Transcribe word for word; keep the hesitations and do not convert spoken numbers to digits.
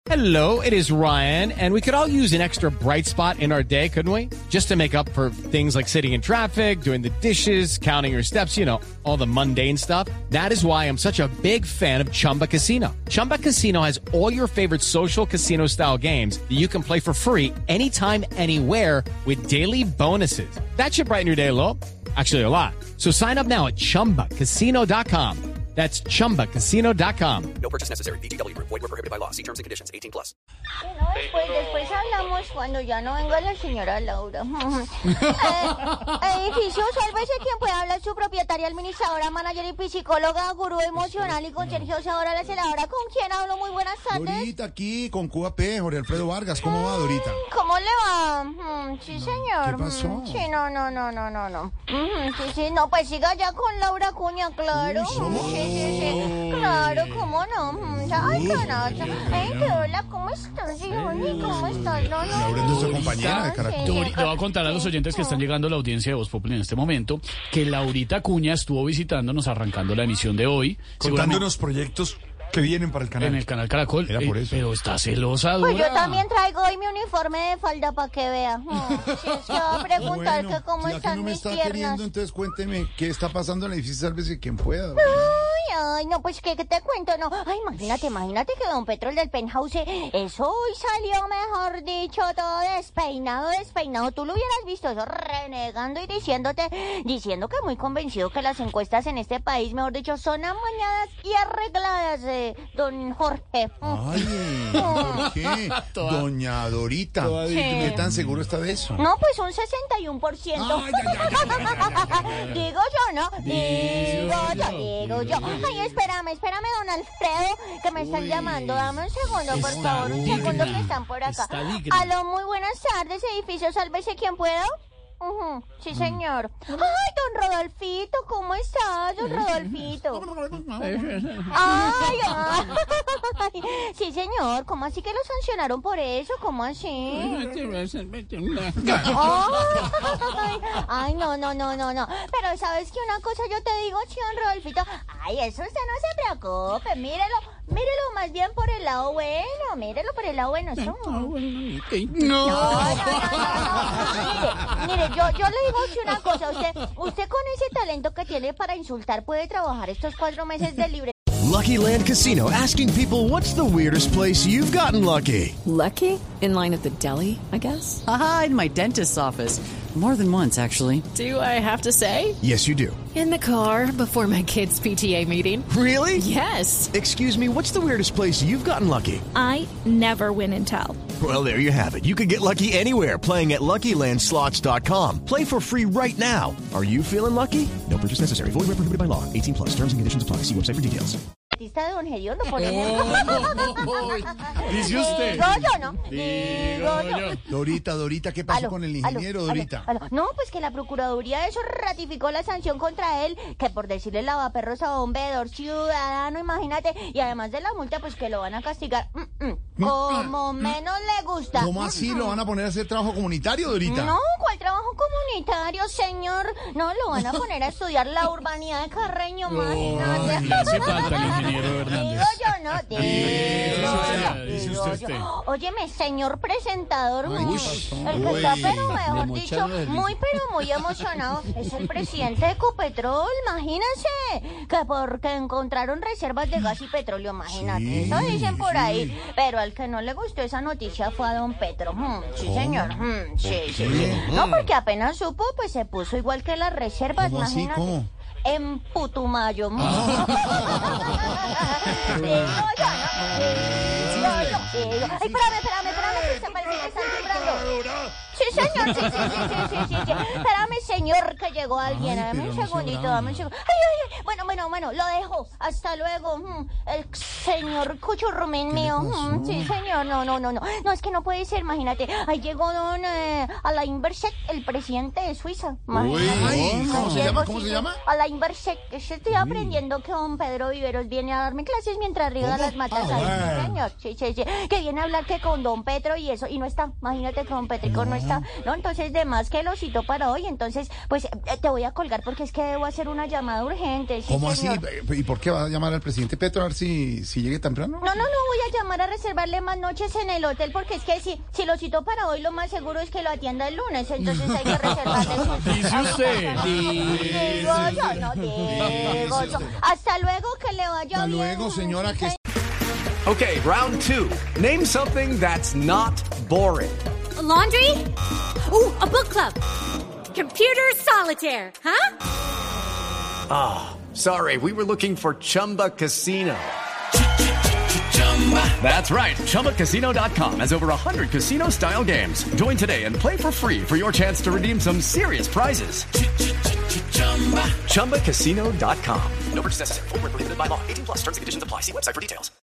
Hello, it is Ryan, and we could all use an extra bright spot in our day, couldn't we? Just to make up for things like sitting in traffic, doing the dishes, counting your steps, you know, all the mundane stuff. That is why I'm such a big fan of Chumba Casino. Chumba Casino has all your favorite social casino-style games that you can play for free anytime, anywhere with daily bonuses. That should brighten your day a little. Actually, a lot. So sign up now at chumba casino dot com. That's chumba casino dot com. No purchase necessary. V G W Group. Void where prohibited by law. See terms and conditions. eighteen plus. Bueno, después, después hablamos cuando ya no venga la señora Laura. eh, edificio, sálvese quien pueda hablar, su propietaria, administradora, manager y psicóloga, gurú emocional y con Sergio Sabora, la celadora. ¿Con quién hablo? Muy buenas tardes. Dorita, aquí con Cuba P, Jorge Alfredo Vargas. ¿Cómo va, Dorita? ¿Cómo le va? Mm, sí, señor. ¿Qué pasó? Mm, sí, no, no, no, no, no, no. Mm, sí, sí, no, pues siga ya con Laura Cuña, claro. Uy, sí, sí, sí. Claro, ¿cómo no? Mm, ay, caracha. Ay, qué hola, ¿cómo estás, Johnny? ¿Cómo estás? No, no. Laura es nuestra compañera de Caracol. Sí, Dori, le voy a contar a los oyentes que están llegando a la audiencia de Voz Populi en este momento que Laurita Acuña estuvo visitándonos arrancando la emisión de hoy. Contándonos proyectos que vienen para el canal. En el canal Caracol. Era por eh, eso. pero está celosa, Dora. Pues yo también traigo hoy mi uniforme de falda para que vea. Mm, si es que va a preguntar que cómo ya están que no me mis está piernas. queriendo, entonces cuénteme qué está pasando en el edificio, sálvese quien pueda. Dorita. Ay, ay, no, pues que, que te cuento, no. Ay, imagínate, imagínate que don Petro, el del penthouse, eso hoy salió, mejor dicho, todo despeinado, despeinado. Tú lo hubieras visto, eso renegando y diciéndote, diciendo que muy convencido que las encuestas en este país, mejor dicho, son amañadas y arregladas, eh, don Jorge. Ay, ¿por qué? Doña Dorita, ¿qué tan seguro está de eso? No, pues un sesenta y uno por ciento. Ay, ay, ay, ay, ay, ay, ay. Digo yo, ¿no? Digo yo, digo yo. Ay, espérame, espérame, don Alfredo, que me están Uy, llamando. Dame un segundo, por está favor, un digna, segundo que están por acá. está digna. Aló, muy buenas tardes, edificio, sálvese quien pueda. Ujú, sí, señor. Ay, don Rodolfito, ¿cómo estás, don Rodolfito? Ay, ay, sí, señor, ¿cómo así que lo sancionaron por eso? ¿Cómo así? Ay, ay, no, no, no, no, no. Pero ¿sabes qué? Una cosa yo te digo, don Rodolfito. Ay, eso usted no se preocupe, mírelo, mírelo más bien por el lado bueno, mírelo por el lado bueno. Eso. No, no, no, no, no. Mire, mire, yo, yo le digo que una cosa, usted, usted con ese talento que tiene para insultar puede trabajar estos cuatro meses de libre. Lucky Land Casino, asking people, what's the weirdest place you've gotten lucky? Lucky? In line at the deli, I guess? Aha, in my dentist's office. More than once, actually. Do I have to say? Yes, you do. In the car before my kids' P T A meeting. Really? Yes. Excuse me, what's the weirdest place you've gotten lucky? I never win and tell. Well, there you have it. You can get lucky anywhere, playing at Lucky Land Slots dot com. Play for free right now. Are you feeling lucky? No purchase necessary. Void where prohibited by law. eighteen plus. Terms and conditions apply. See website for details. De don Gediondo, por ejemplo. Dice usted. Digo yo, ¿no? Digo yo. Dorita, Dorita, ¿qué pasó Aló, con el aló, ingeniero, aló, Dorita? aló. No, pues que la Procuraduría de eso ratificó la sanción contra él, que por decirle lavaperros a un veedor ciudadano, imagínate, y además de la multa, pues que lo van a castigar mm, mm, como menos le gusta. ¿Cómo así lo van a poner a hacer trabajo comunitario, Dorita? No, ¿cuál trabajo comunitario, señor? No, lo van a poner a estudiar la urbanidad de Carreño, imagínate. Ay, le hace falta el ingeniero Hernández. Digo yo, ¿no? Digo yo, Dice digo usted. yo. Óyeme, señor presentador, Ay, mm, uy. el que está, pero mejor dicho, muy, pero muy emocionado, es el presidente de Ecopetrol, imagínense, que porque encontraron reservas de gas y petróleo, imagínate, Sí, eso dicen por ahí, sí. pero al que no le gustó esa noticia fue a don Petro, mm, sí, ¿Cómo? señor, mm, sí, sí, sí, qué? no, porque apenas supo, pues se puso igual que las reservas, ¿Cómo así? imagínate. ¿Cómo? En Putumayo. Digo yo, ¿no? Digo yo, digo yo. Ay, espérame, espérame, espérame, que se parece que están timbrando. Sí, señor, sí, sí, sí, sí, sí, sí, sí. Espérame, señor, que llegó alguien. Ay, Dame un pero no se segundito, brava. dame un segundo. Ay, ay, ay. Bueno, bueno, bueno, lo dejo. Hasta luego. Mm, El señor Cuchurrumín mío. Mm, Sí, señor, no, no, no, no. No, es que no puede ser, imagínate. Ahí llegó don eh, Alain Berset, el presidente de Suiza. Uy, Imagínate. ¿cómo se Llegó, llama? ¿Cómo sí, se sí. llama? Alain Berset. Estoy aprendiendo que don Pedro Viveros viene a darme clases mientras riega ¿Cómo? las matas Ah, ahí. Sí, bueno. señor. Sí, sí, sí. Que viene a hablar que con don Petro y eso. Y no está. Imagínate que don Petrico no está. verdad. No, entonces, de más que lo citó para hoy, entonces, pues, eh, te voy a colgar porque es que debo hacer una llamada urgente. Sí, ¿Cómo señor. así? ¿Y por qué va a llamar al presidente Petro a ver si, si llegue temprano? No, no, no, voy a llamar a reservarle más noches en el hotel porque es que si, si lo citó para hoy, lo más seguro es que lo atienda el lunes, entonces hay que reservarle sus... Dice usted. Digo yo, no digo yo. Hasta luego, que le vaya Hasta bien. luego, señora, que... Okay, round two. Name something that's not boring. A laundry? Ooh, a book club. Computer solitaire, huh? Ah, oh, sorry, we were looking for Chumba Casino. That's right, Chumba Casino dot com has over one hundred casino-style games. Join today and play for free for your chance to redeem some serious prizes. Chumba Casino dot com. No purchase necessary. Void where prohibited by law. eighteen plus terms and conditions apply. See website for details.